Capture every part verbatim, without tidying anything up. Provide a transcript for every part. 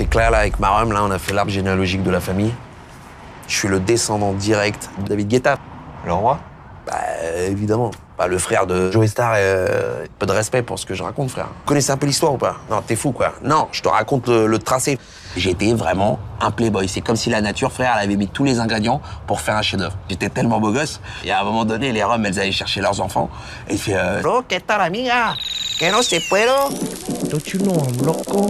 C'est clair, là, avec Marum, là, on a fait l'arbre généalogique de la famille. Je suis le descendant direct de David Guetta. Le roi? Bah, évidemment. Bah, le frère de Joey Starr, euh, peu de respect pour ce que je raconte, frère. Vous connaissez un peu l'histoire ou pas? Non, t'es fou, quoi. Non, je te raconte le, le tracé. J'étais vraiment un playboy. C'est comme si la nature, frère, elle avait mis tous les ingrédients pour faire un chef-d'œuvre. J'étais tellement beau gosse. Et à un moment donné, les Roms, elles allaient chercher leurs enfants. Et il fait euh... Bro, ¿qué tal, amiga? Que no se puedo? Don't you know I'm loco?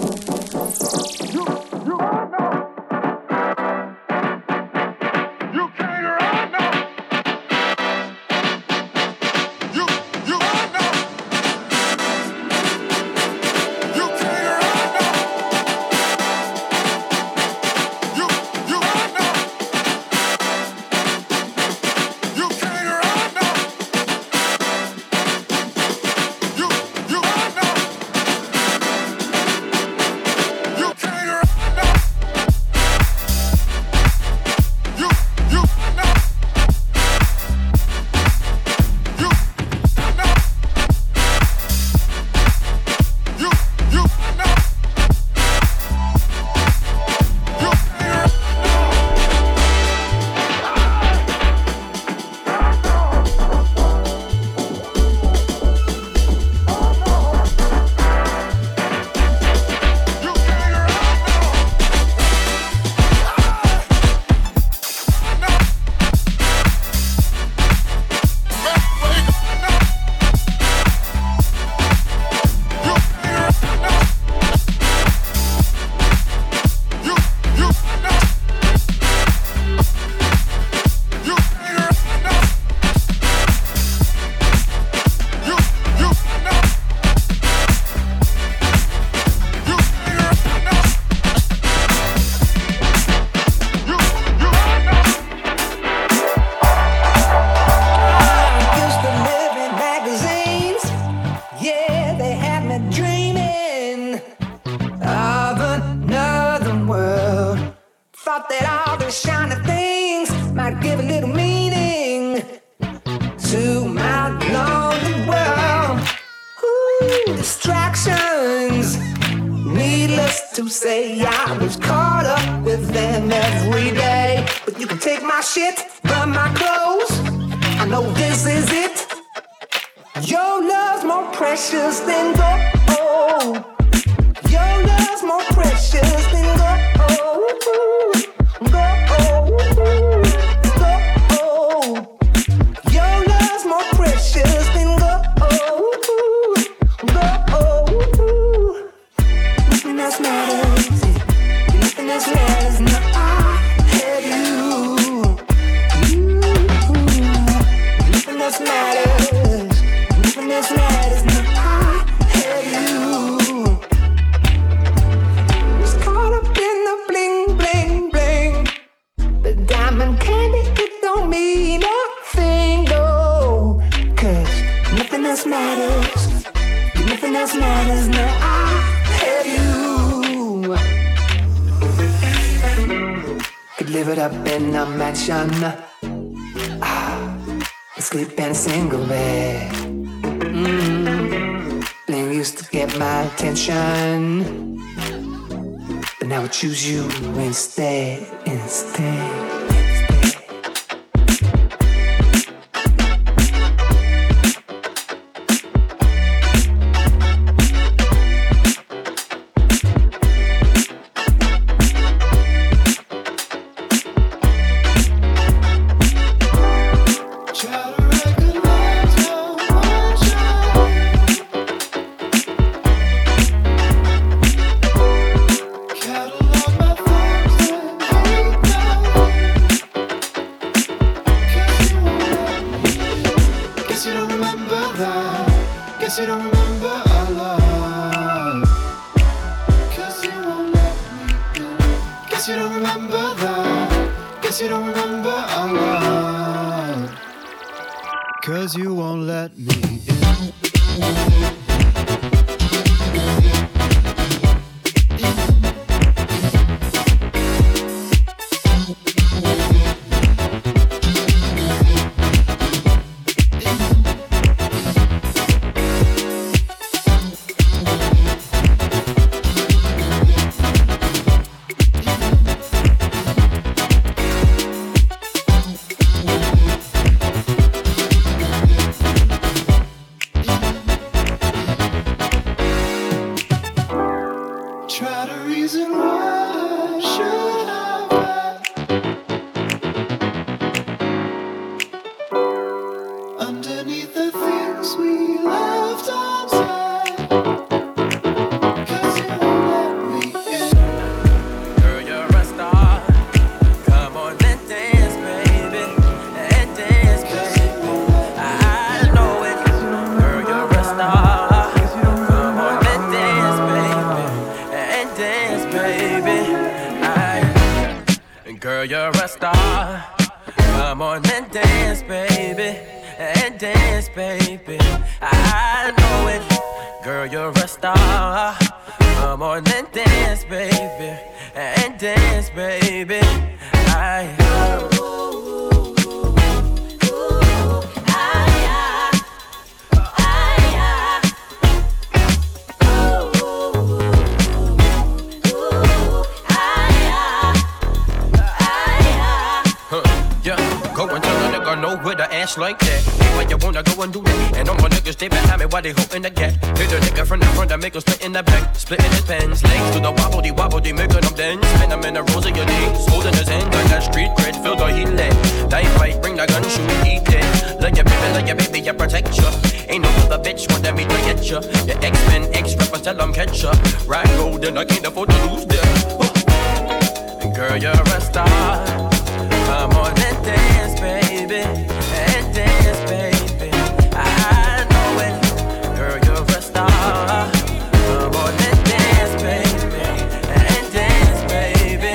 Sleep in a single bed. Mm-hmm. Bling used to get my attention, but now I choose you instead, instead. Girl, you're a star. Come on and dance, baby. And dance, baby. I know it. Girl, you're a star. Come on and dance, baby. And dance, baby. I know with an ass like that. Why you wanna go and do that? And all my niggas stay behind me while they holding the gap. Hit a nigga from the front that make him split in the back. Splitting his pants, legs to the wobble, they wobble, they making them dance. Spin them in the rows of your knees, holding his hand like that street cred, feel the heat lit. Die fight, bring the gun, shoot, eat it. Love your baby, love your baby, I protect ya. Ain't no other bitch want me to get ya. Your X-Men, X-Rappers, tell them catch ya. Ride gold and I can't afford to lose them. Girl, you're a star. Come on and dance, baby. And dance, baby. I know it. Girl, you're a star. Come on and dance, baby. And dance, baby.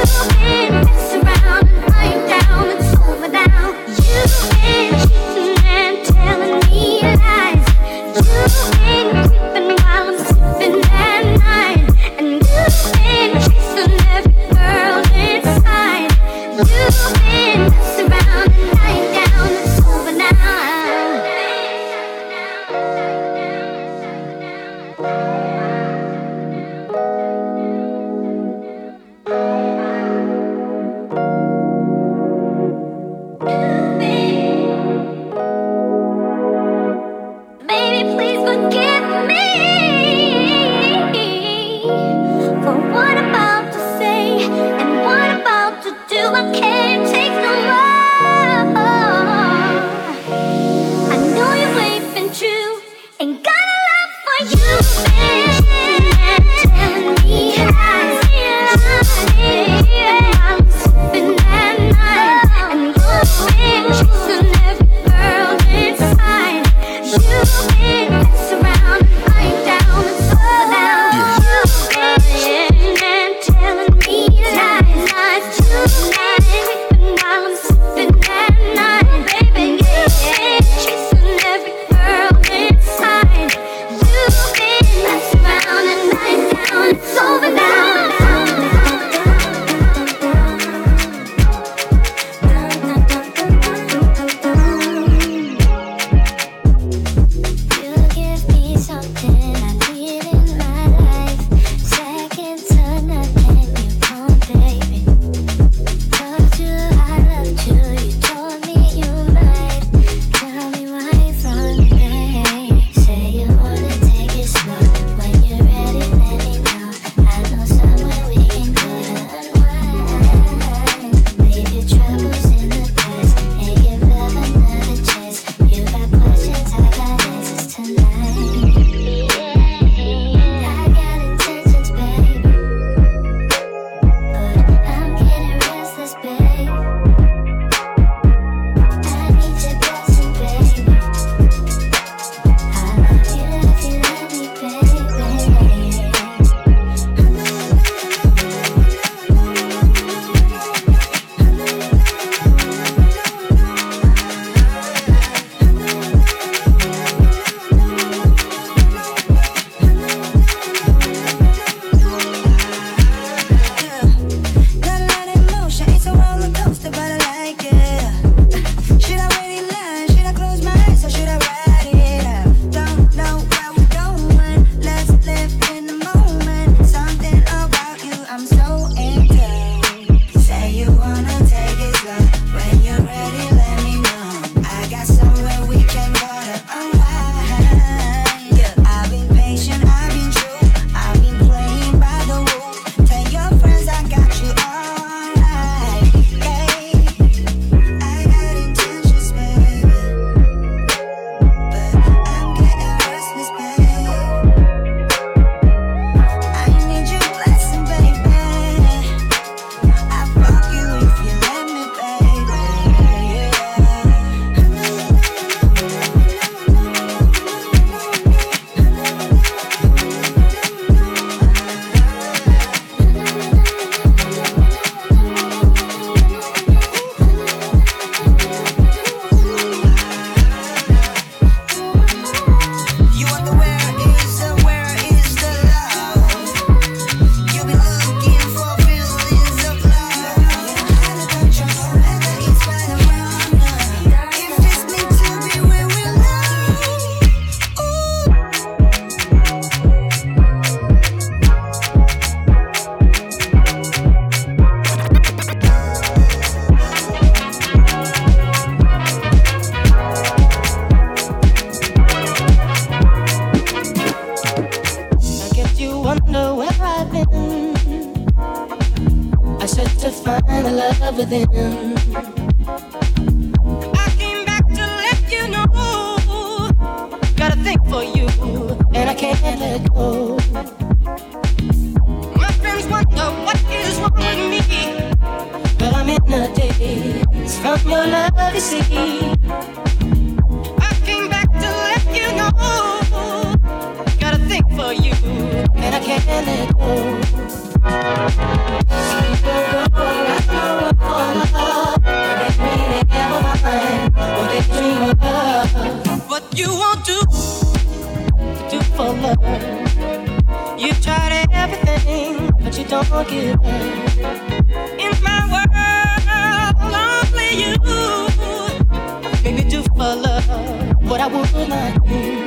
You've been cheating love with him. I came back to let you know. Got a thing for you, and I can't let go. My friends wonder what is wrong with me, but I'm in a daze from your love, you see. I came back to let you know. Got a thing for you, and I can't let go. What you won't do, do for love. You tried everything, but you don't give up. In my world, only you make me do for love what I would not do.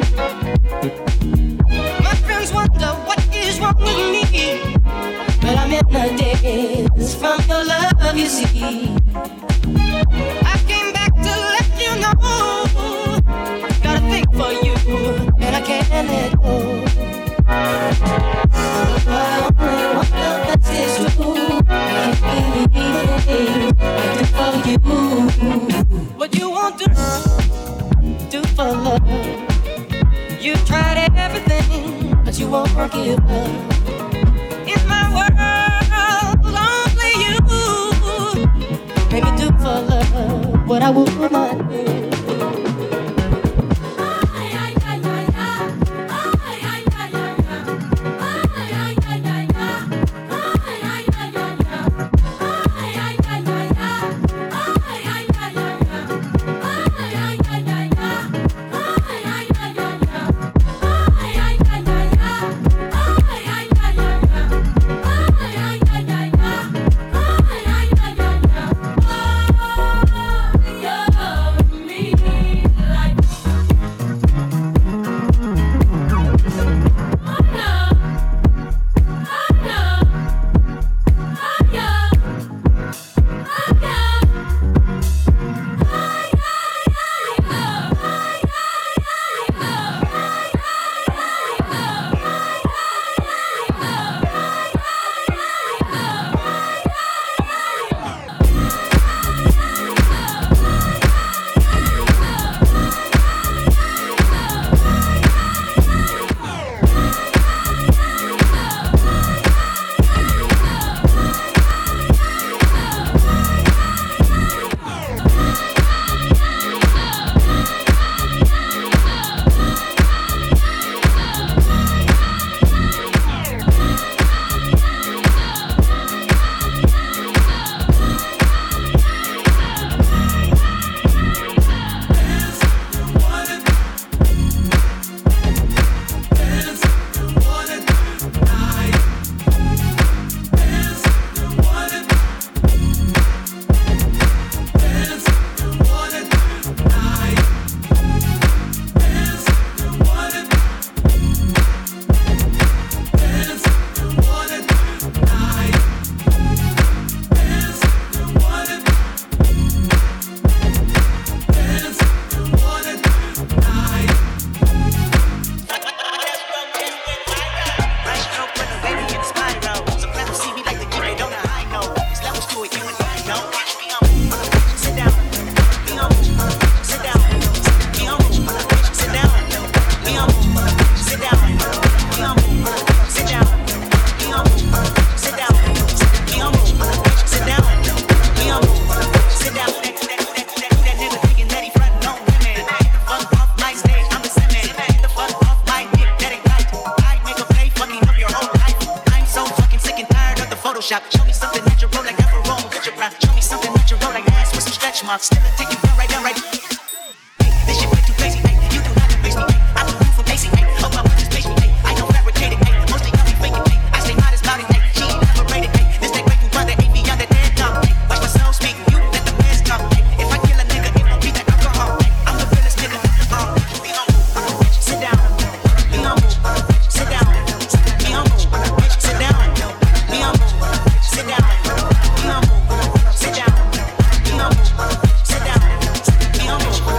My friends wonder what is wrong with me, but I'm in a daze from your love, you see. I came back to let you know. Got a thing for you, and I can't let go. I only want the best is true. I can't believe I do for you. What you want to do for love. You tried everything, but you won't give up. In my world, only you make me do for love what I would not do. Sit down.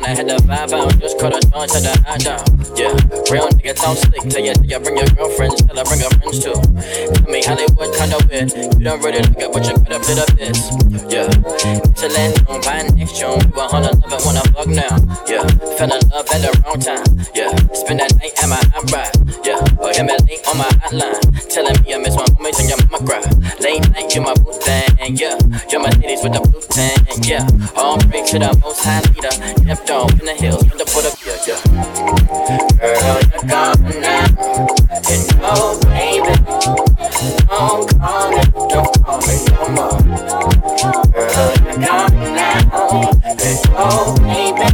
I had the vibe out, just caught a charge, had the eye down. Yeah, real nigga don't slick. Tell ya, tell ya, bring your girlfriends, tell her bring her friends too. Tell me Hollywood kinda weird. You don't really look at what you gotta fit up this. Yeah, excellent, on by next June. We were on a love and wanna fuck now. Yeah, fell in love at the wrong time. Yeah, spend that night at my hot ride. Yeah, or him at late on my hotline. Telling me I miss my homies and your mama cry. Late night, you my boo thing. Yeah, you're my titties with the blue tan. Yeah, all break to the most high leader. Kept on in the hills with the put up. Yeah, yeah. Girl, you're gone now. You know, baby. Don't call me, don't call me no more. Girl, you're gone now. You know, baby.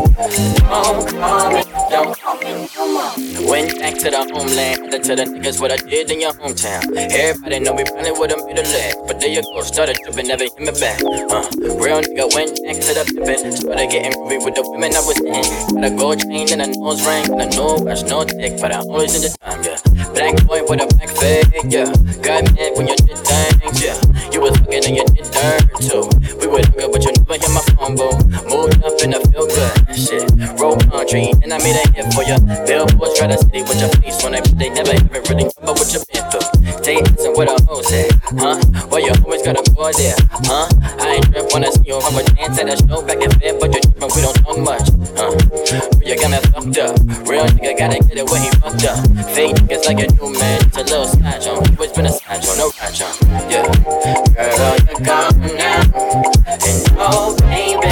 Don't call me, don't call me no more. Went back to the homeland, to the niggas what I did in your hometown. Everybody know we probably would've made a leg, but there you go, started tripping, never hit me back. Uh, real nigga went back to the pippin', started getting groovy with the women I was in. Got a gold chain and a nose ring, and a no watch, no dick, but I always in the time, yeah. Black boy with a black fade, yeah. Got mad when you did things, yeah. You was fucking and you did dirt too. We were good, but you never hit my phone, boo. Moved up in the feel good shit. Roll country, and I made a hit for ya. Billboards try to city with your face on it, but they never ever really know what you've been through. Stay asking what a hoe said, huh? Well, you always gotta go there, huh? I ain't trip wanna see you have a dance at a show back in bed, but you're trippin', we don't talk much, huh? But you got me fucked up. Real nigga gotta get it where he fucked up. Fake niggas like a new man, it's a little snatch on. Always been a snatch on, no catch on, yeah. Girl, you're gone now. And oh, baby,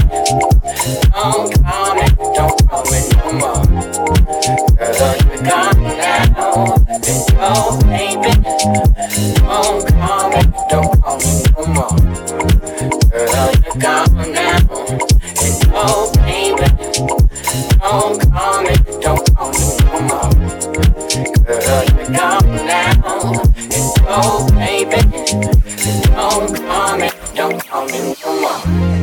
don't call me, don't call me no more. Girl, you're gone now. And oh, baby, don't call me, don't call me no more. Girl, you're gone now. And oh, baby, don't call me, don't call me no more. Girl, you're gone now. And oh, baby, don't call me, don't call me no more.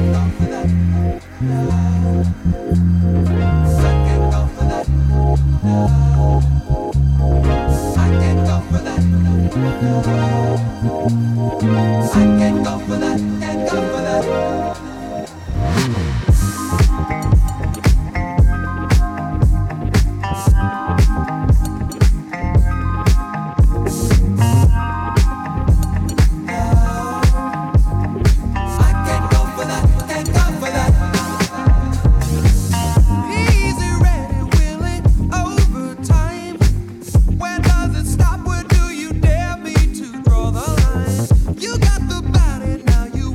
You got the body, now you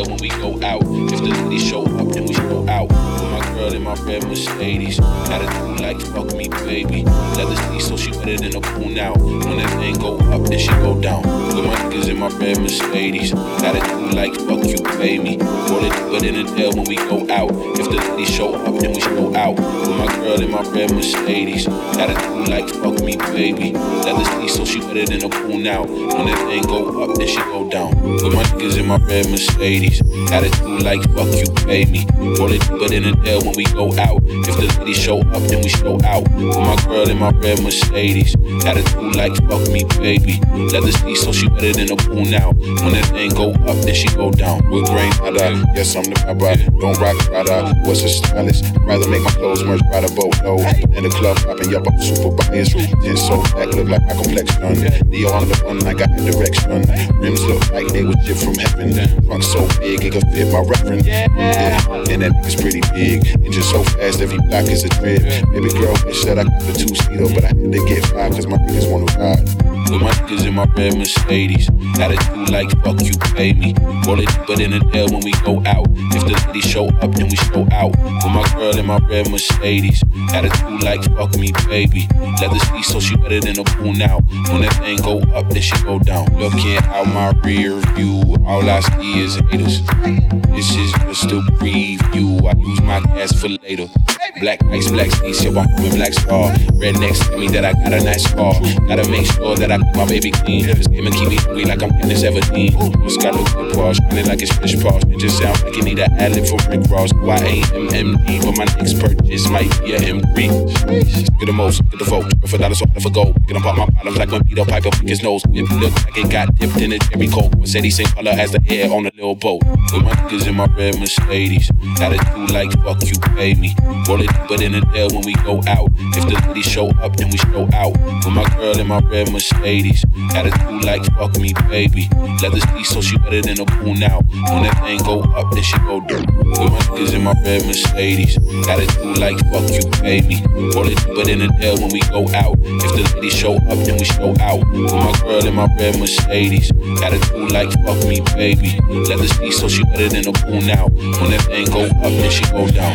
when we go out. If the ladies show up, then we show out. With my girl in my red Mercedes. Attitude like fuck me, baby. Leather seats, so she wetter than a pool now. When that thing go up, then she go down. With my niggas in my red Mercedes. Attitude like fuck you, baby. Roll it deeper than a tail when we go out. If the ladies show up, then we show out. With my girl in my red Mercedes. Attitude like fuck me, baby. Leather seats, so she wetter than a pool now. When that thing go up, then she go down. With my niggas in my red Mercedes. Attitude like fuck you, pay me. Roll it deeper than a tail when we go out. If the ladies show up, then we show out. With my girl in my red Mercedes. Attitude like fuck me, baby. Leather seats, so she better than a pool now. When that thing go up, then she go down. With grain, nada. Yes, I'm the papa. Don't rock Prada. What's a stylist? Rather make my clothes merch by the boatload. In the club, popping up, I'm super biased. Ten so back, look like my complexion. Neo on the one, I got the direction. Rims look like they was shit from heaven. Trunk so big, it could fit my reference. Yeah. And that nigga's pretty big. Engine so fast, every block is a trip. Baby girl, bitch, said I got the two-seater, but I had to get five, cause my niggas wanna ride. With my niggas in my red Mercedes. Attitude like fuck you, pay me. Roll it deeper than a tail when we go out. If the ladies show up, then we show out. With my girl in my red Mercedes. Attitude like fuck me, baby. Leather seats, so she better than a pool now. When that thing go up, then she go down. Looking out my rear view, all I see is haters. This is just a preview. I use my gas for later. Black ice, black seats, yo, I'm coming black star. Rednecks tell me that I got a nice car. Gotta make sure that I keep my baby clean. This game and keep me hungry like I'm getting seventeen. Just got a good paw, shining like it's fish paws. It just sounds like you need an ad-lib for Rick Ross. Y A M M D, but my next purchase might be a M three. Get the most, get the vote. For dollars, off for gold. Get them pop my bottoms like when Peter Piper pick his nose. It look like it got dipped in a cherry coke. Said he same color as the hair on a little boat. With my niggas in my red Mercedes. Attitude like fuck you, pay me. Roll it deeper than a tail when we go out. If the ladies show up, then we show out. With my girl in my red Mercedes. Attitude like fuck me, baby. Leather seats, so she better than a pool now. When that thing go up, then she go down. With my niggas in my red Mercedes. Attitude like fuck you, pay me. Roll it deeper than a tail when we go out. If the ladies show up, then we show out. With my girl in my red Mercedes. Attitude like fuck me, baby. Leather seats, so she better than a pool now. When that thing go up, then she go down.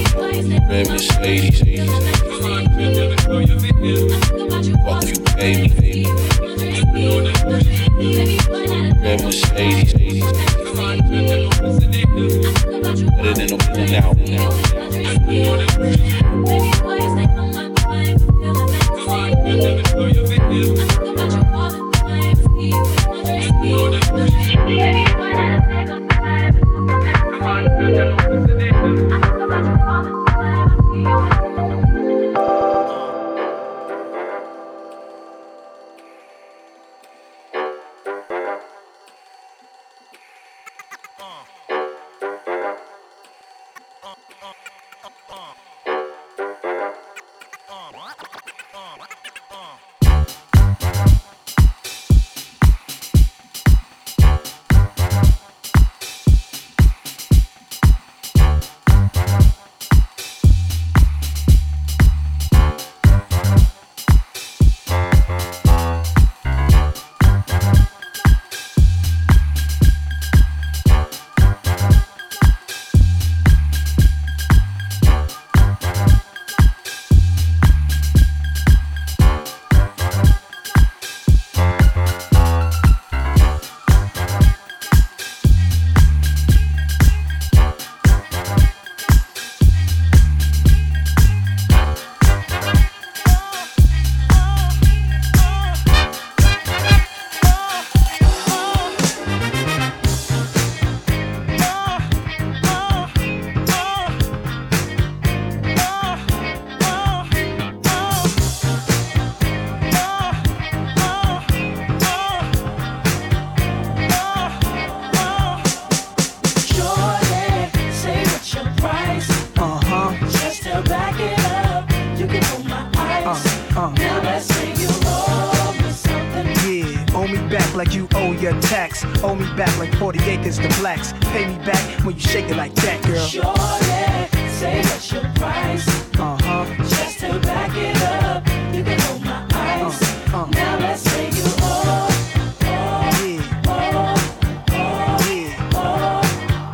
Red Mercedes. Fuck you, baby. Red Mercedes. Better than a pool now. Like you owe your tax. Owe me back like forty acres to blacks. Pay me back when you shake it like that, girl. Surely, say what's your price. Uh-huh. Just to back it up, you can hold my eyes. Uh, uh. Now let's say you owe, owe, yeah. owe, owe, yeah. owe,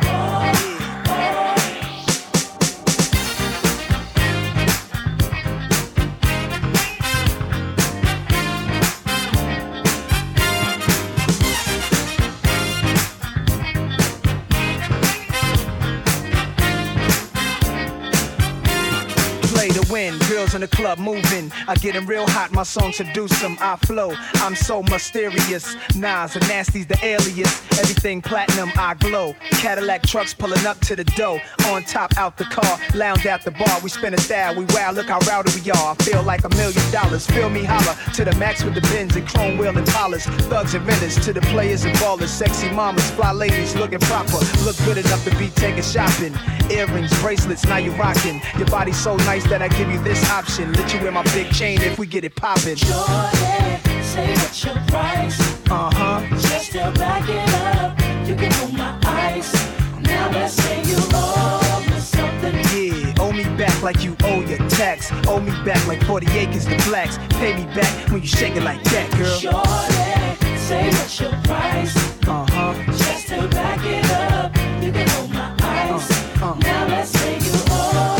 win. Girls in the club moving. I get them real hot, my song seduce them. I flow, I'm so mysterious. Nas and Nasty's the alias. Everything platinum, I glow. Cadillac trucks pulling up to the door. On top, out the car, lounge at the bar. We spin a style, we wow, look how rowdy we are. I feel like a million dollars. Feel me holler to the max with the Benz and chrome wheel and polish. Thugs and vendors to the players and ballers. Sexy mamas, fly ladies looking proper. Look good enough to be taking shopping. Earrings, bracelets, now you rocking. Your body's so nice that I give you this option. Let you wear my big chain if we get it poppin'. Shorty, say what's your price? Uh-huh. Just to back it up, you can hold my ice. Now let's say you owe me something. Yeah, owe me back like you owe your tax. Owe me back like forty acres to blacks. Pay me back when you shake it like that, girl. Shorty, say what's your price? Uh-huh. Just to back it up, you can hold my ice. Uh, uh. Now let's say you owe.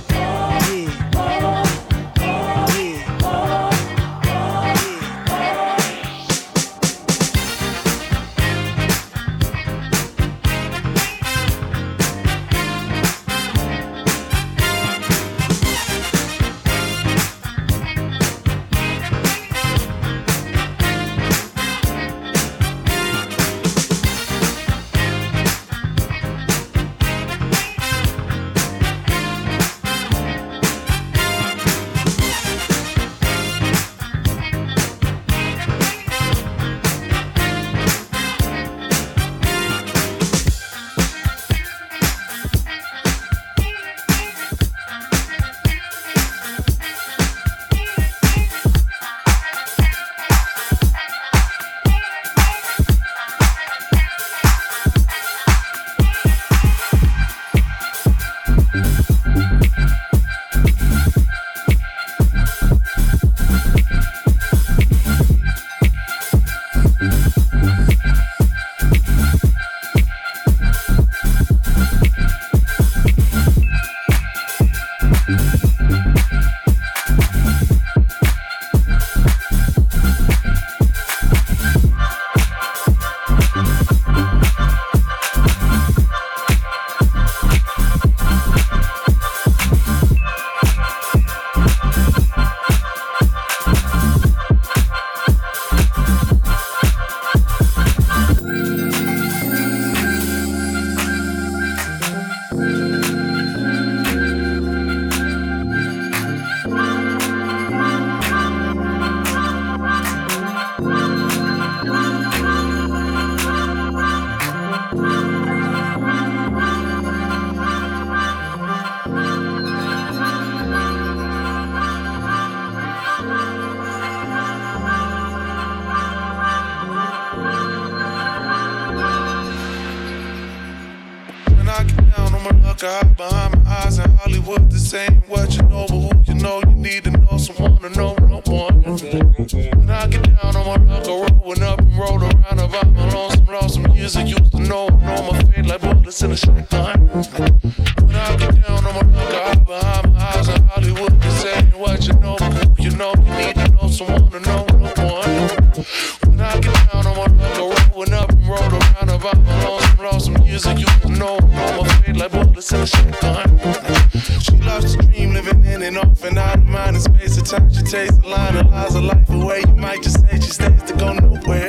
God behind my eyes in Hollywood, this ain't what you know, but who you know, you need to know someone to know no one. When I get down on my luck, I rolling up and roll around about my lonesome, lonesome years I used to know, know my fate like bullets in a shotgun. When I get down on my luck, I hide behind my eyes in Hollywood, this ain't what you know, but who you know, you need to know someone to know no one. When I get down on my luck, I rolling up and roll around about my lonesome, lonesome years I used to know, know my fate like bullets in a shotgun. She loves to dream, living in and off and out of mind and space. At times she takes a line of lies of life away. You might just say she stays to go nowhere.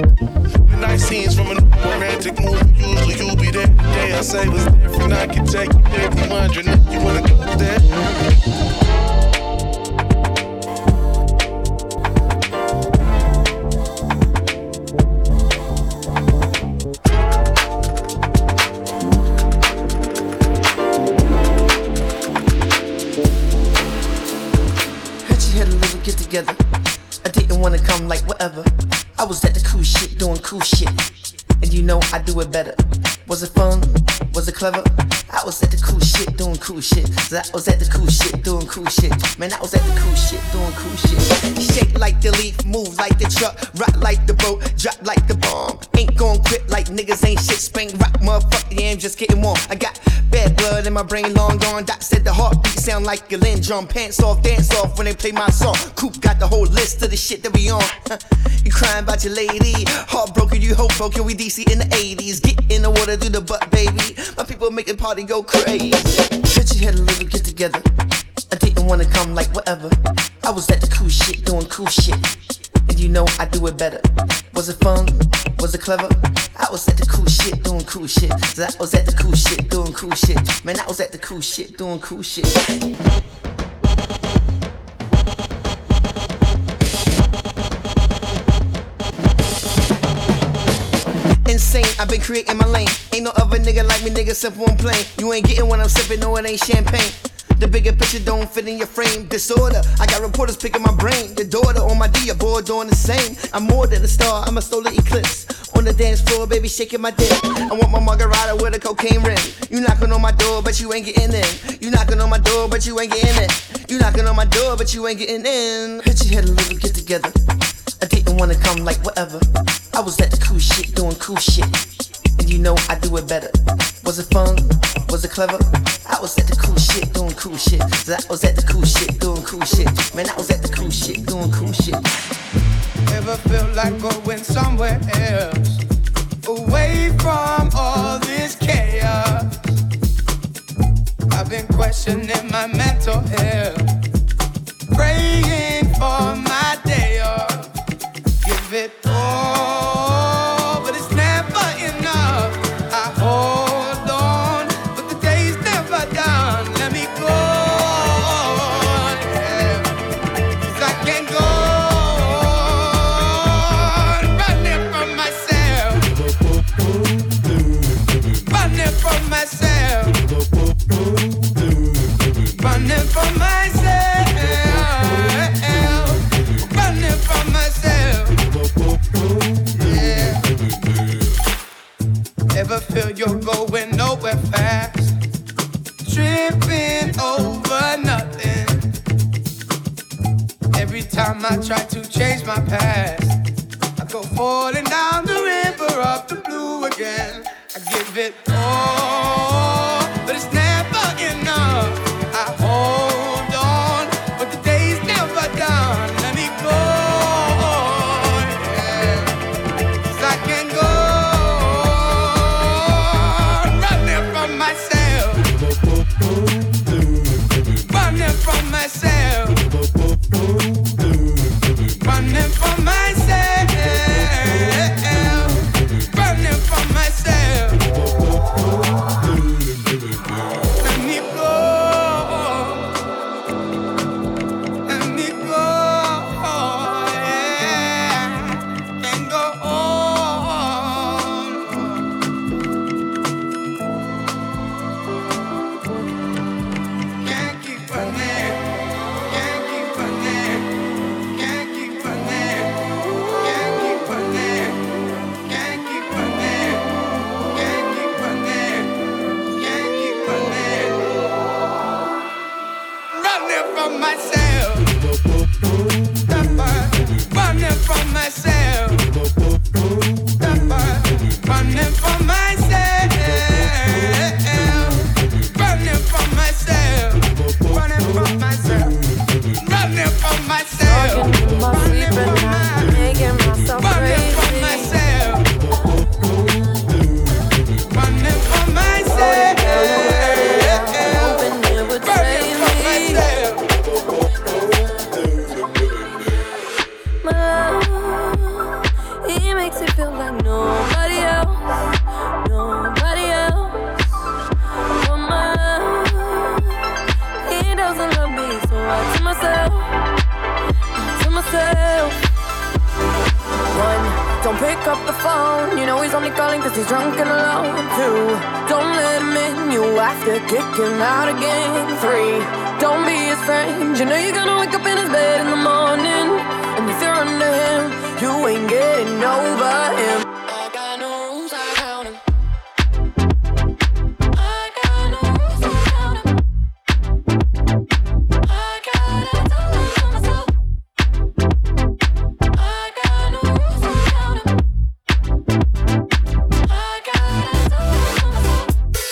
Midnight scenes from a romantic movie. Usually you'll be there today. I say what's different. I can take you there. I'm wondering if you wanna go there. Together. I didn't wanna come like whatever. I was at the cool shit, doing cool shit. And you know I do it better. Was it fun? Was it clever? I was at the cool shit, doing cool shit. I was at the cool shit, doing cool shit. Man, I was at the cool shit, doing cool shit. Shake like the leaf, move like the truck, rock like the boat, drop like the bomb. Ain't gon' quit like niggas ain't shit. Spank rock, motherfucker, yeah, I'm just getting warm. I got bad blood in my brain, long gone. Doc said the heartbeat sound like a Lynn drum. Pants off, dance off when they play my song. Coop got the whole list of the shit that we on. You crying about your lady, heartbroken, you hope broken. We D C in the eighties, get in the water, do the butt, baby. My people make the party go crazy. Bitch, you had a little get together. I didn't didn't wanna come like whatever. I was at the cool shit, doing cool shit. And you know I do it better. Was it fun? Was it clever? I was at the cool shit, doing cool shit. So I was at the cool shit, doing cool shit. Man, I was at the cool shit, doing cool shit. Insane, I've been creating my lane. Ain't no other nigga like me, nigga, simple and plain. You ain't getting what I'm sipping, no, it ain't champagne. The bigger picture don't fit in your frame. Disorder, I got reporters picking my brain. Your daughter on my D, your boy doing the same. I'm more than a star, I'm a solar eclipse. On the dance floor, baby, shaking my dick. I want my margarita with a cocaine rim. You knocking on my door, but you ain't getting in. You knocking on my door, but you ain't getting in. You knocking on my door, but you ain't getting in. Hit your head a little, get together. I didn't wanna come like whatever. I was at the cool shit, doing cool shit. And you know I do it better. Was it fun? Was it clever? I was at the cool shit, doing cool shit. So I was at the cool shit, doing cool shit. Man, I was at the cool shit, doing cool shit. Ever feel like going somewhere else? Away from all this chaos. I've been questioning my mental health. Praying for my day off. Give it all, but it's never enough. I hold on, but the day's never done. Let me go, yeah. 'Cause I can't go on running from myself. Running from myself. Running from myself. Running from myself. Yeah. Ever feel you're going nowhere fast? Tripping over nothing. Every time I try to change my past, I go falling down the river of the blue again. I give it all, but it's never enough. I hold on, but the day's never done. Let me go, yeah. 'Cause I can't go running from myself. Running from myself. Running from myself. Running from myself. Let me go. Let me go. Yeah. Can't go on. Can't keep running. Can't keep running. Can't keep running. Can't keep running. Can't keep running. Can't keep running. Can't keep running. Running from myself. Running from myself. Running from myself. Running from myself. Running from myself. Running from myself. Talking in my sleep at night, making myself Running from crazy. myself. Running from myself. Hoping it would Running save from me. myself. My love, he makes it feel like nobody else, nobody else. Oh my love, he doesn't love me, so I tell myself, I tell myself. One, don't pick up the phone, you know he's only calling cause he's drunk and alone. Two, don't let him in, you have to kick him out again. Three, don't be his friend, you know you're gonna wake up in his bed in the morning. And if you're under him, you ain't getting over him. I got no rules, I count him. I got no rules, I count him. I gotta tell him to myself. I got no rules, I count him. I gotta tell him to myself.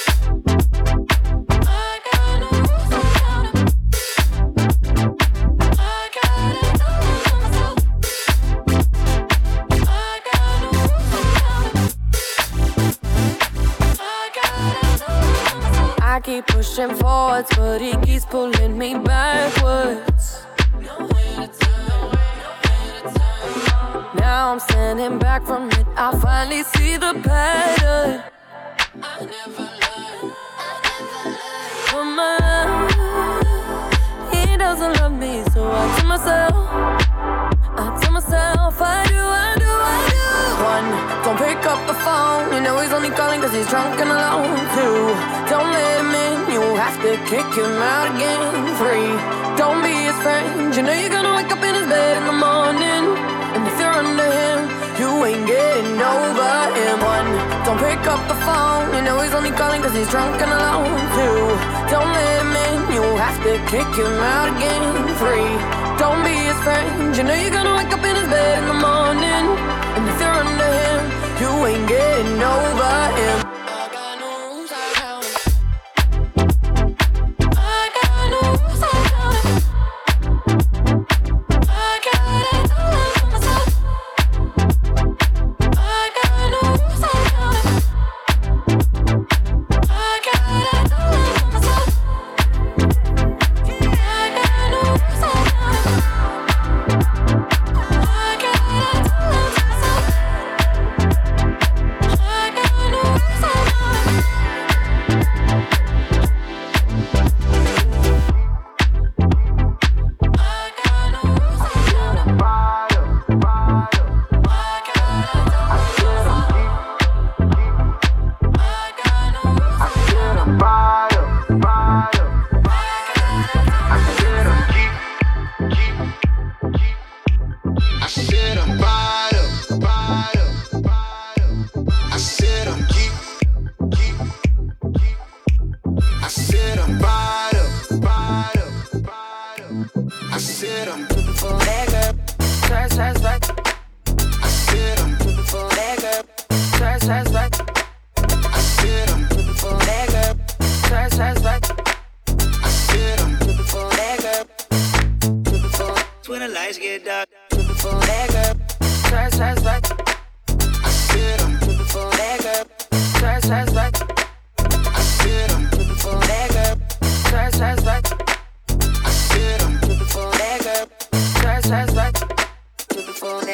I got no rules, I count him. I gotta tell him to myself. I got no rules. I keep pushing forwards, but he keeps pulling me backwards. Now I'm standing back from it, I finally see the pattern. I never learned, I never learned. From my love, he doesn't love me, so I tell myself, I tell myself, I do, I do, I do. One, don't pick up the phone, you know he's only calling cause he's drunk and alone. Two, don't let him in, you have to kick him out again. Three, don't be his friend, you know you're gonna wake up in his bed in the morning. And if you're under him, you ain't getting over him. One, don't pick up the phone, you know he's only calling cause he's drunk and alone. Two, don't let him in, you have to kick him out again. Three, don't be his friend, you know you're gonna wake up in his bed in the morning. And if you're under him, you ain't getting over him. I got no rules, I count it. I got no rules, I count it. I got it all for myself. I got no rules, I count it. I got it all for myself. I got no rules, I count it. I got it all for myself. I got no rules, I count it. I said I'm bottom, bottom, bottom. I said I'm geek, geek, geek. I said I'm bottom, bottom, bottom. I said I'm looking for that girl. Search, search, search. I said I'm looking for that girl. Search, search, search. I said I'm looking for that girl. Search, search, search. I said I'm looking for that girl. Looking for when the lights get dark. Looking for that girl. Search, search, search. I said I'm looking for that girl. Search, search, search. I said I'm looking for that girl. Search, search, search. I said I'm looking for that girl. Search, search, search. Looking for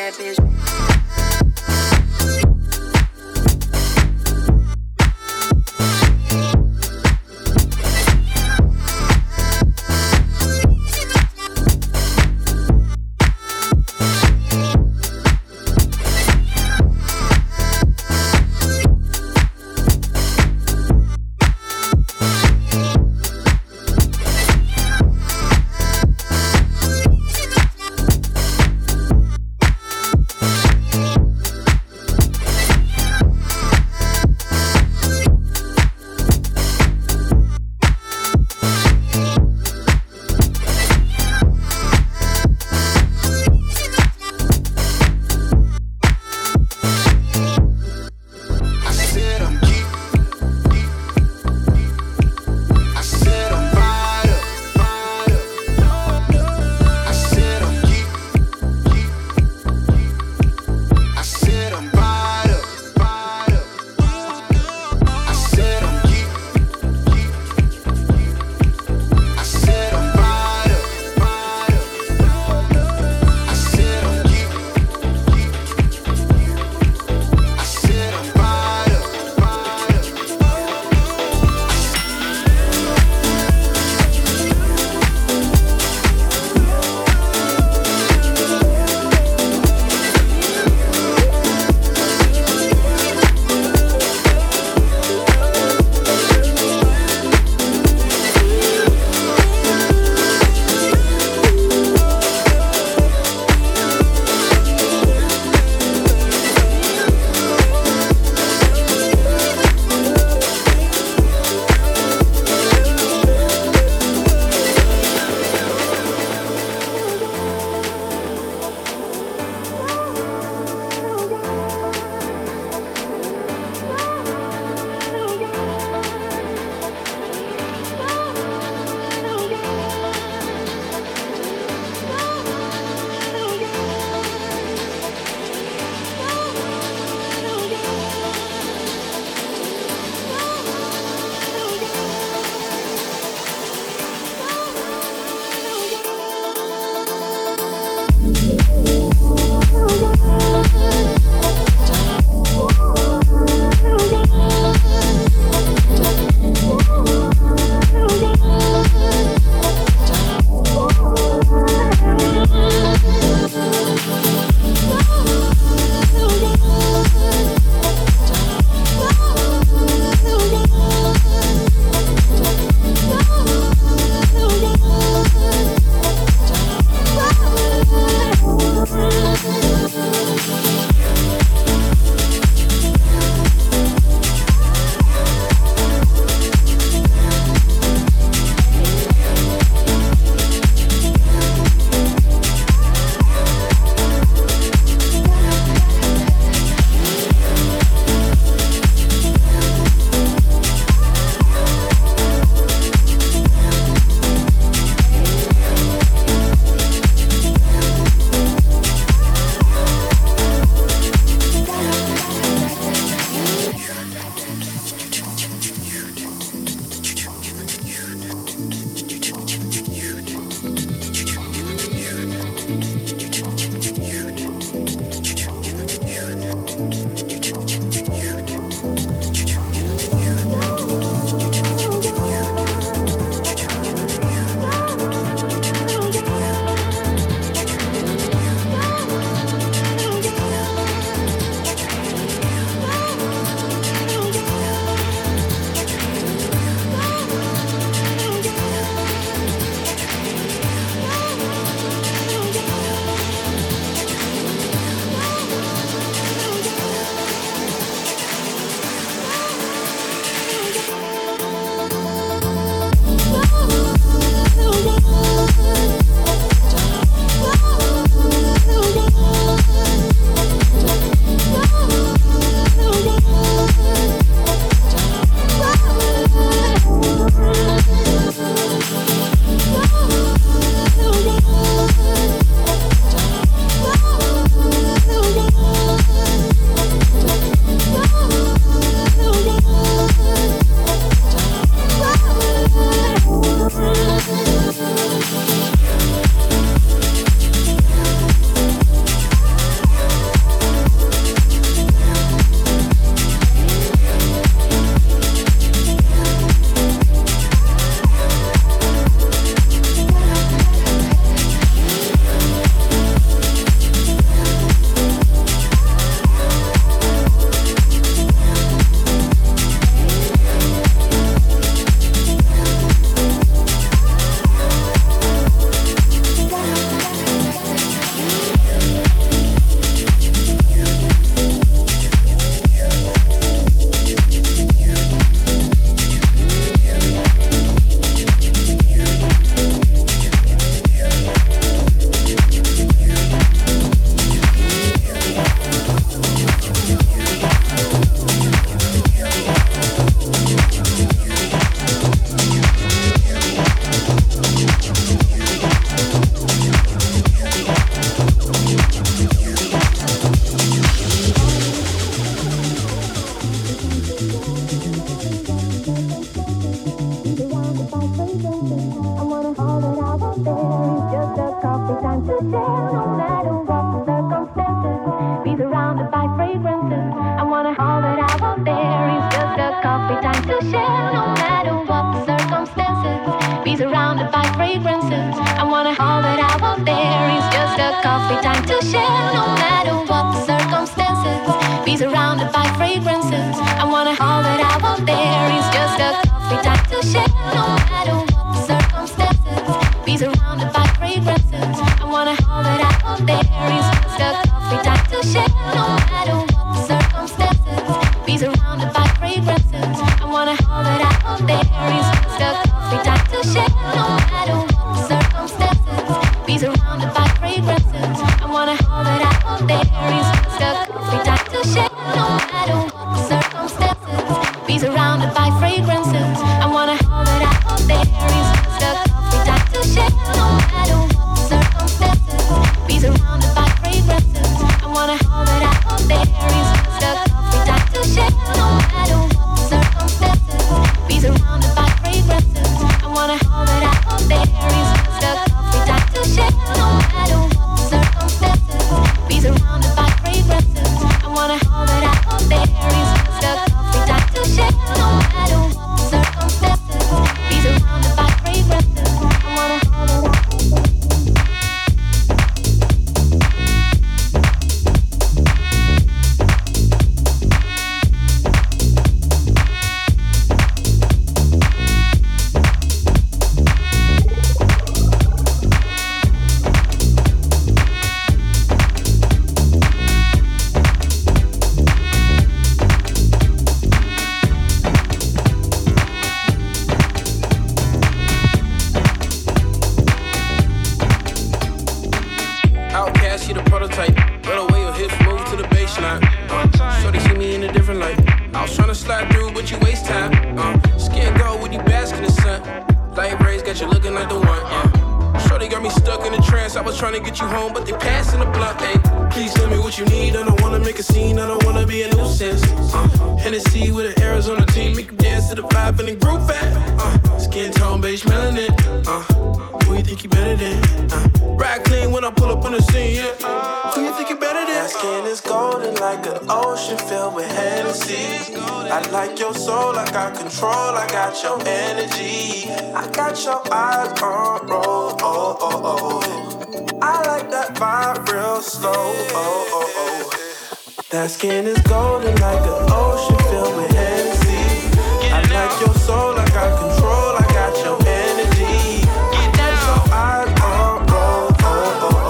That skin is golden like an ocean filled with Hennessy. I like your soul, I got control, I got your energy. I got your eyes on roll, oh, oh,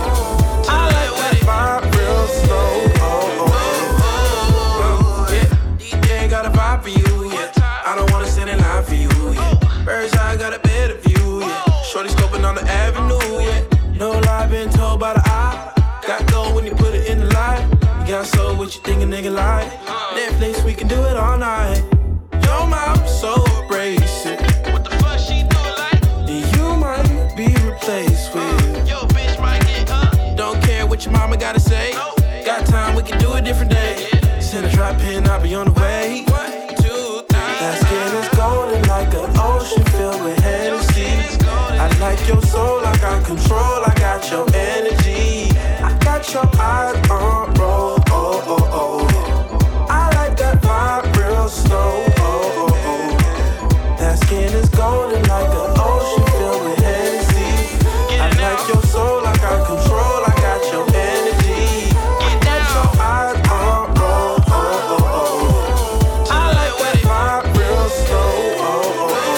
oh. I like that vibe real slow, oh, oh, oh. Yeah, D J got a vibe for you, yeah. I don't wanna stand in line for you, yeah. Bird's eye got a better view, yeah. Shorty scoping on the avenue, yeah. No lie, been told by the eye. Got gold when you put it in the light. Got soul, what you think a nigga like? Netflix, we can do it all night. Your mouth so abrasive. What the fuck she do like? You might be replaced with. Yo, bitch might get up. Don't care what your mama gotta say. Got time, we can do a different day. Send a drop in, I'll be on the way. One, two, three. That skin is golden like an ocean filled with Hennessy. I like your soul, I got control, I got your energy. I got your eyes on roll, oh, oh, oh. I like that vibe real slow, oh, oh, oh. That skin is golden like an ocean filled with Hennessy. I like your soul, I got control, I got your energy. I got your eyes on roll, oh, oh, oh. I like that vibe real slow, oh, oh, oh.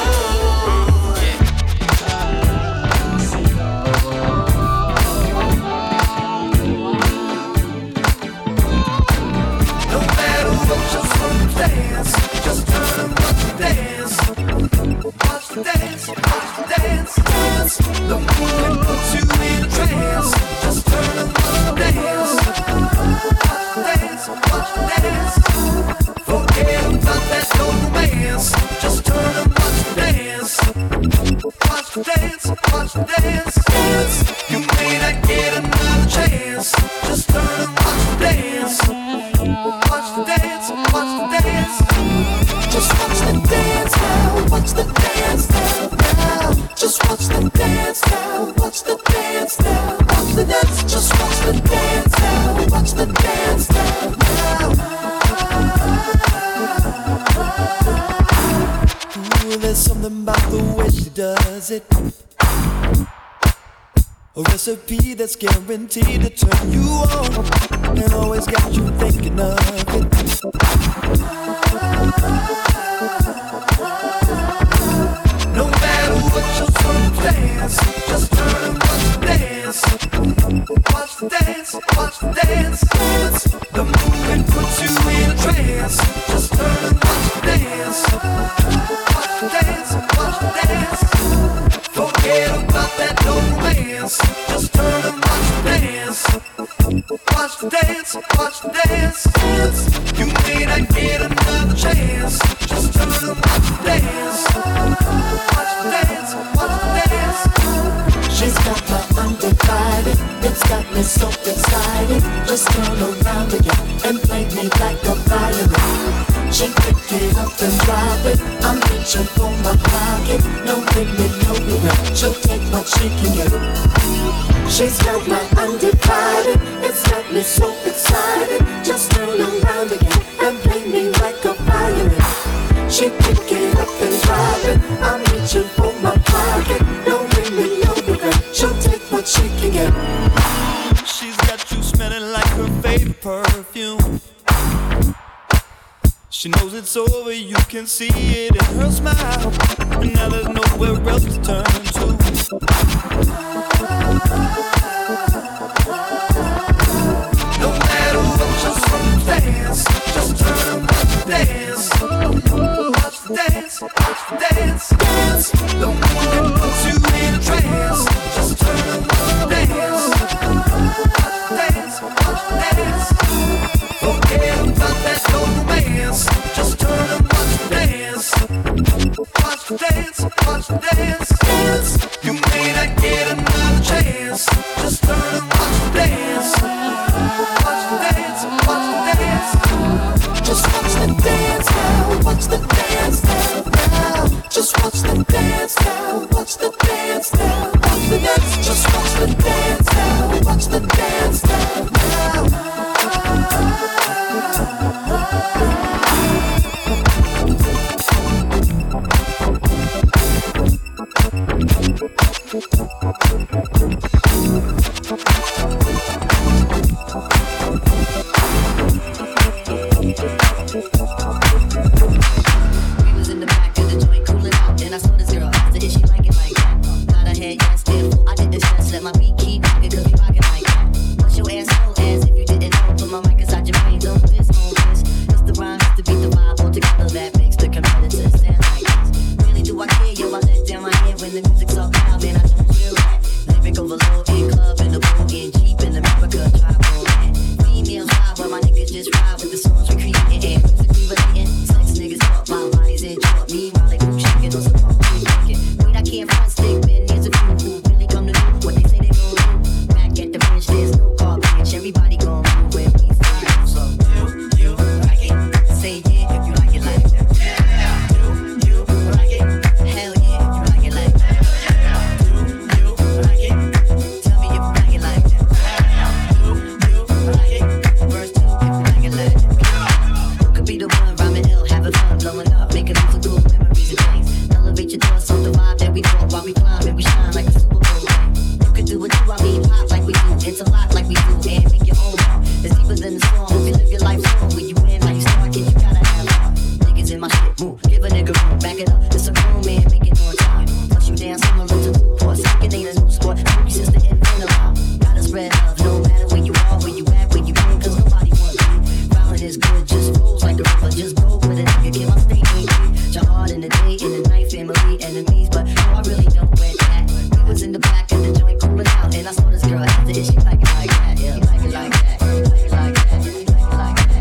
Just turn and watch the dance. Watch the dance, watch the dance, dance. The movement puts you in a trance. Just turn and watch the dance. Watch the dance, watch the dance. Forget about that no romance. Just turn and watch the dance. Watch the dance, watch the dance, dance. You may not get another chance. Just turn and watch the dance. Watch the dance, watch the dance. Just watch the dance now. watch the dance now. Watch the dance, just watch the dance now. Watch the dance now. Ooh, there's something about the way she does it. A recipe that's guaranteed to turn you on and always got you thinking of it. No matter what your circumstance, just turn and watch the dance. Watch the dance, watch the dance, dance. The movement puts you in a trance. Just turn and watch the dance. Watch the dance, watch the dance. Forget about that no romance. Just turn and watch the dance. Watch the dance, watch the dance, dance. You may not get another chance. Just turn and watch the dance. Watch the dance, watch the dance. She's got my undivided. It's got me so excited. Just turn around again and play me like a violin. She pick it up and drop it. I'm reaching for my pocket. No limit, no regret. She'll take what she can get. She's got my undivided. It's got me so excited. Just turn around again and play me like a violin. She pick it up and drop it. I'm reaching for my pocket. No limit, no regret. She'll take what she can get. She's got you smelling like her favorite perfume. She knows it's over, you can see it in her smile. And now there's nowhere else to turn to. No matter what your circumstance, just turn and watch the dance. Watch the dance, watch the dance, dance. The movement puts you in a trance. Just turn and watch the dance. Watch the dance, watch the dance. Forget about that no romance. Just turn and watch the dance. Watch the dance, watch the dance, dance. You may not get another chance. Just turn and watch the dance. Watch the dance, watch the dance. Just watch the dance now. Watch the dance now, now. Just watch the dance now. Watch the dance now. Watch the dance. Just watch the dance now. Watch the dance now, now. We was in the back of the joint cooling out, and I saw this girl. I said, is she like it like that? Got her head, yes, still. I didn't stress, let my beat keep rocking, cause we rockin' like that. Bust your ass so as if you didn't know. Put my mic inside your brain, don't this, on this. It's the rhyme, it's the beat, the vibe, all together that makes the competitor stand like this. Really do I care, yo, I let down my head when the music's so loud, man, I don't feel that. Lyric overload in club, in the pool, in Jeep, in America, try to pull that. Females ride while my niggas just ride with the songs we creating and musically relating. Sex niggas talk my lines and talk me while they move shaking on some punk we making. Wait, I can't front stick, man, here's a few who really come to do what they say they gon' do. Back at the bench, there's no car bench, everybody gon' move when we start. So, you, you like it? Say yeah if you like it like that. You, you like it? Hell yeah if you like it like that. You, you like it? Tell me if you like it like that. You, you like it? Verse two if you like it like that. Who could be the one rhyming ill, having fun, blowing up, making musical memories and things. Elevate your thoughts on the vibe that we brought while we climb and we shine like a Super Bowl ring. You can do what you, I mean, pop like we do, interlock like we do, and make your own mark. It's deeper than the song. If you live your life strong, when you win like you start, kid, you gotta have fun. Niggas in my shit, move, give a nigga room, back it up. It's a grown man, make it on time. Plus you dance similar to Newport, sneaking ain't a new sport. Spooky sister in Venom, gotta spread love, no matter where you are, where you at, where you been, cause nobody wants you. Violent is good, just flows like a river, just go with a nigga, get my state ain't free. Your heart in the day, in the night, family, enemies, but no, I really don't want that. We was in the back of the joint cooling out, and I saw this girl after it, she like it like that, yeah, like it like that, like it like that, like it like that.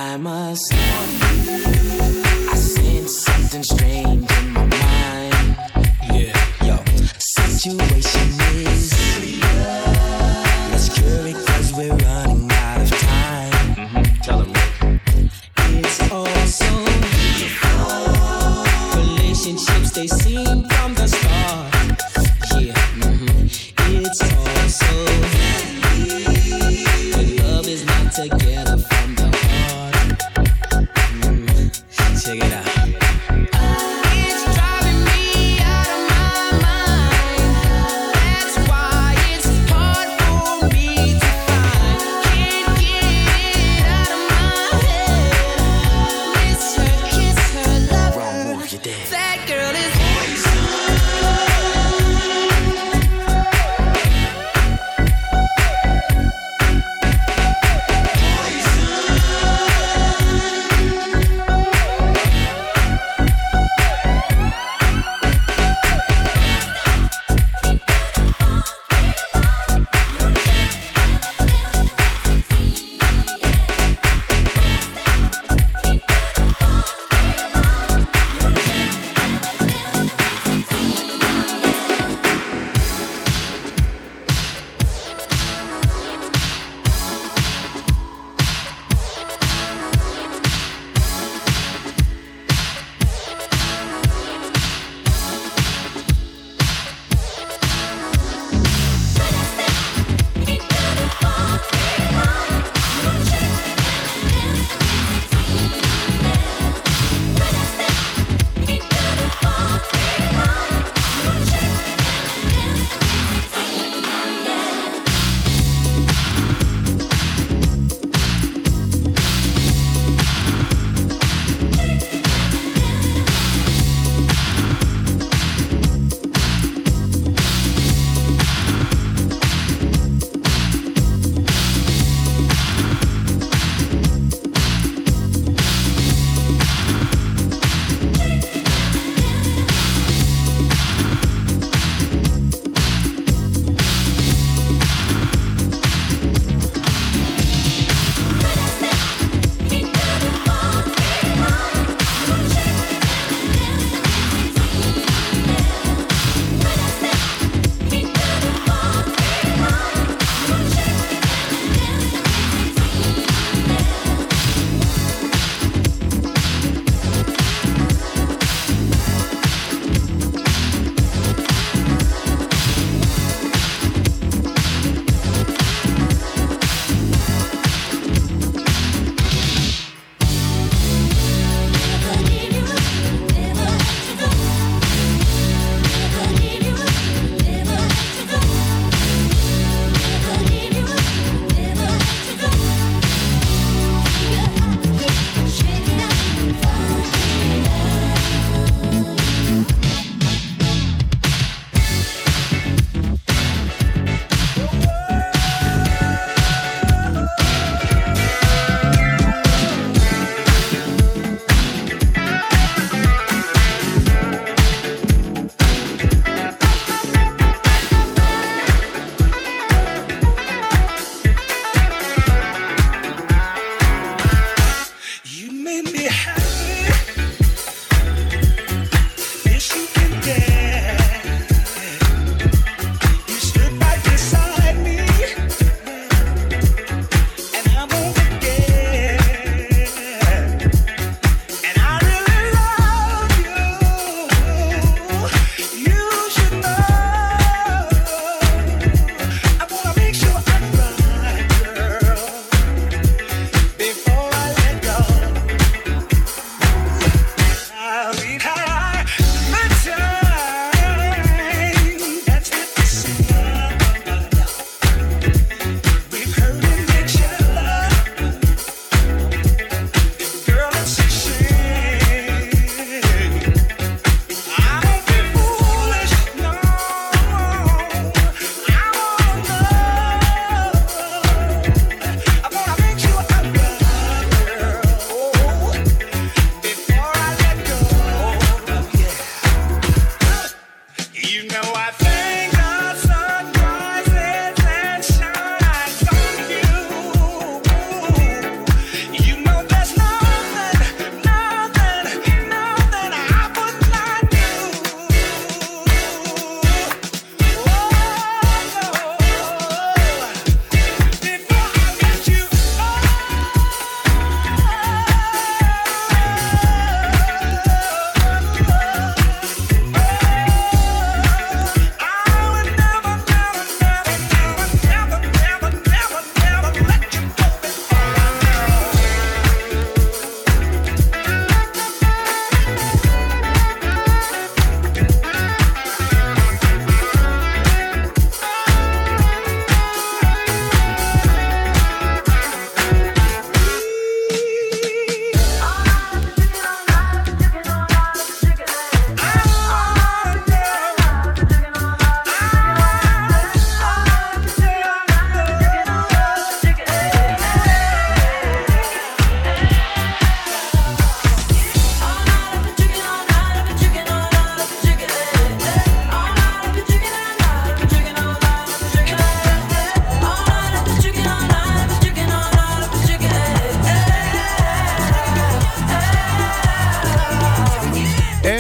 I must I sense something strange in my mind. Yeah, yo, situation is let's cure it cause we're running out of time. Mm-hmm. Tell them it's all so relationships they seem from the start. Yeah, mm-hmm. It's all so but love is not together from the heart. Mm, check it out. It's driving me out of my mind. That's why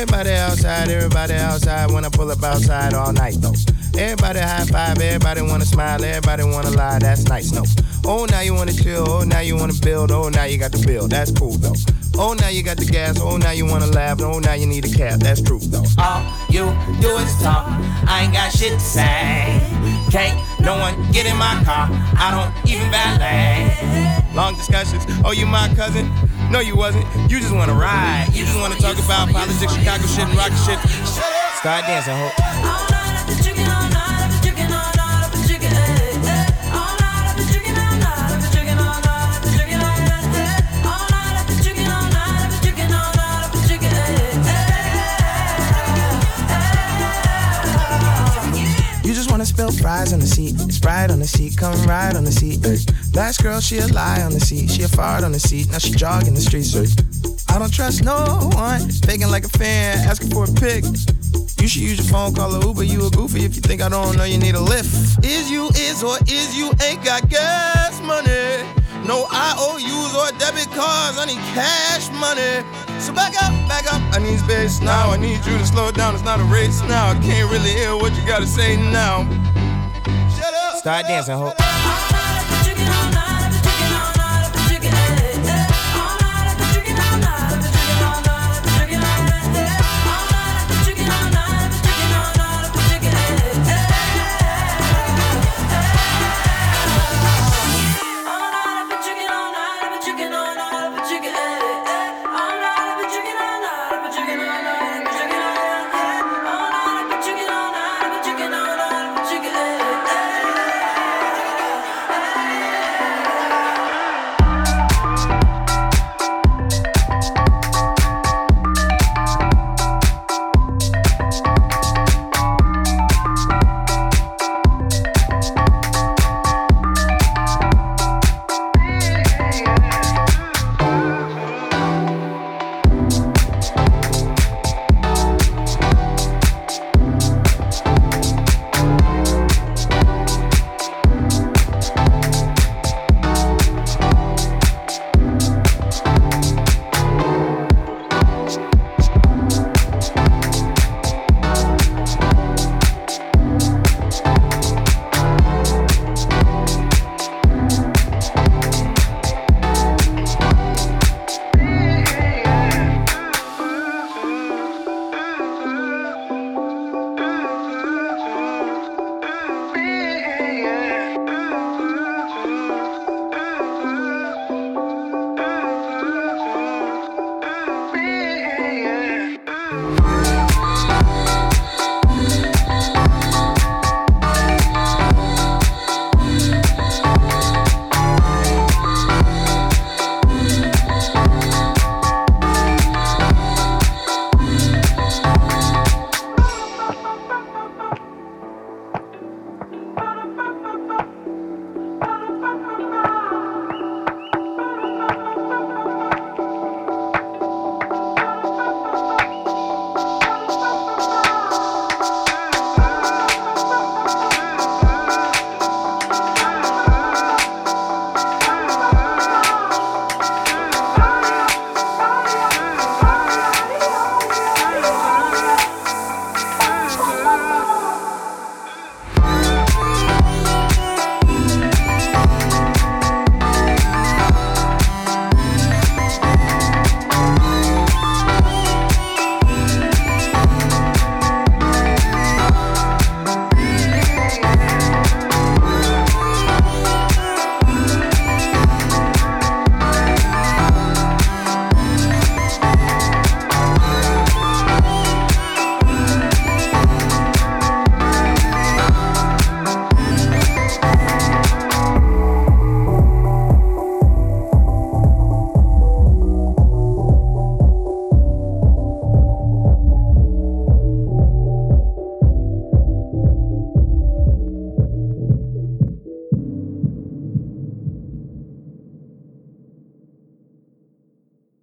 Everybody outside, everybody outside. When I pull up outside all night though. Everybody high five, everybody wanna smile, everybody wanna lie, that's nice, no. Oh, now you wanna chill, oh, now you wanna build, oh, now you got the bill, that's cool though. Oh, now you got the gas, oh, now you wanna laugh, oh, now you need a cab, that's true though. All you do is talk, I ain't got shit to say. Can't no one get in my car, I don't even valet. Long discussions, oh, you my cousin? No, you wasn't, you just wanna ride. You just wanna talk about politics, Chicago shit, and rocket shit. Start dancing, ho. Spill fries on the seat, Sprite on the seat, come ride on the seat. Ay. Last girl, she a lie on the seat, she a fart on the seat, now she jogging the streets. Ay. I don't trust no one, faking like a fan, asking for a pic. You should use your phone, call a Uber, you a goofy if you think I don't know you need a lift. Is you is or is you ain't got gas money? No I O Us or debit cards, I need cash money. So back up, back up, I need space now. I need you to slow down, it's not a race now. I can't really hear what you gotta say now. Shut up. Start dancing, ho.